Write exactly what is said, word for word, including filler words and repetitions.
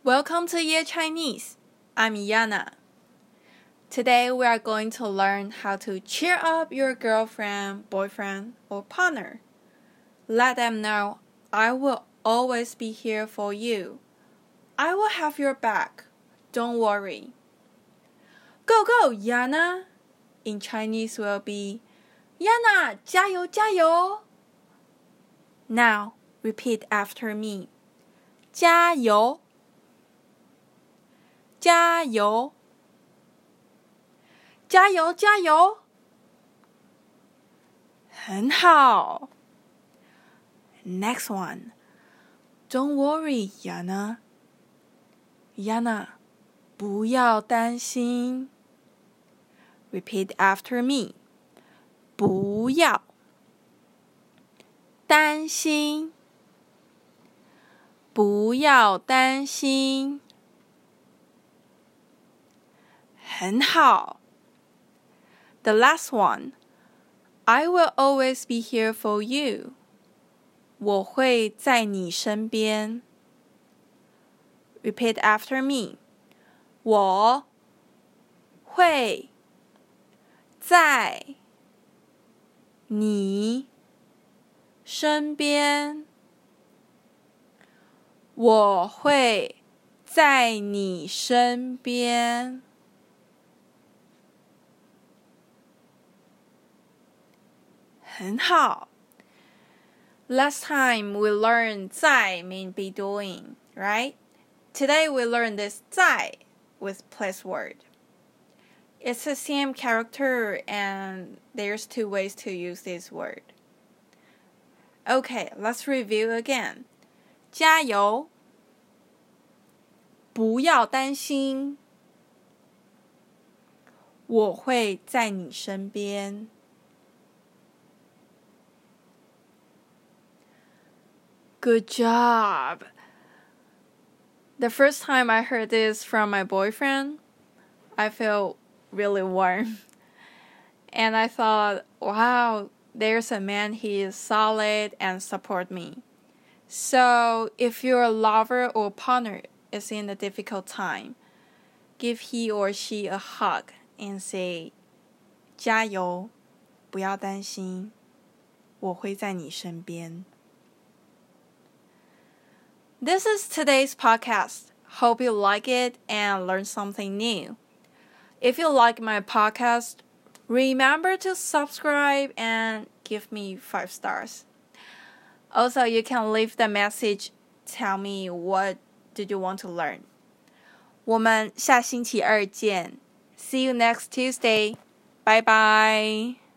Welcome to Year Chinese. I'm Yana. Today we are going to learn how to cheer up your girlfriend, boyfriend, or partner. Let them know, I will always be here for you. I will have your back. Don't worry. Go, go, Yana. In Chinese will be, Yana, 加油加油. Now, repeat after me. 加油加油加油加油很好 Next one. Don't worry, Yana. Yana, 不要担心 Repeat after me. 不要担心不要担心很好 The last one. I will always be here for you. 我会在你身边 Repeat after me. 我会在你身边我会在你身边很好 Last time we learned 在 mean be doing, right? Today we learn this 在 with place word. It's the same character and there's two ways to use this word. Okay, let's review again. 加油不要担心我会在你身边 Good job! The first time I heard this from my boyfriend, I felt really warm. And I thought, wow, there's a man, he is solid and support me. So, if your lover or partner is in a difficult time, give he or she a hug and say, 加油不要担心我会在你身边 This is today's podcast. Hope you like it and learn something new. If you like my podcast, remember to subscribe and give me five stars. Also, you can leave the message, tell me what did you want to learn. 我们下星期二见 See you next Tuesday. Bye bye.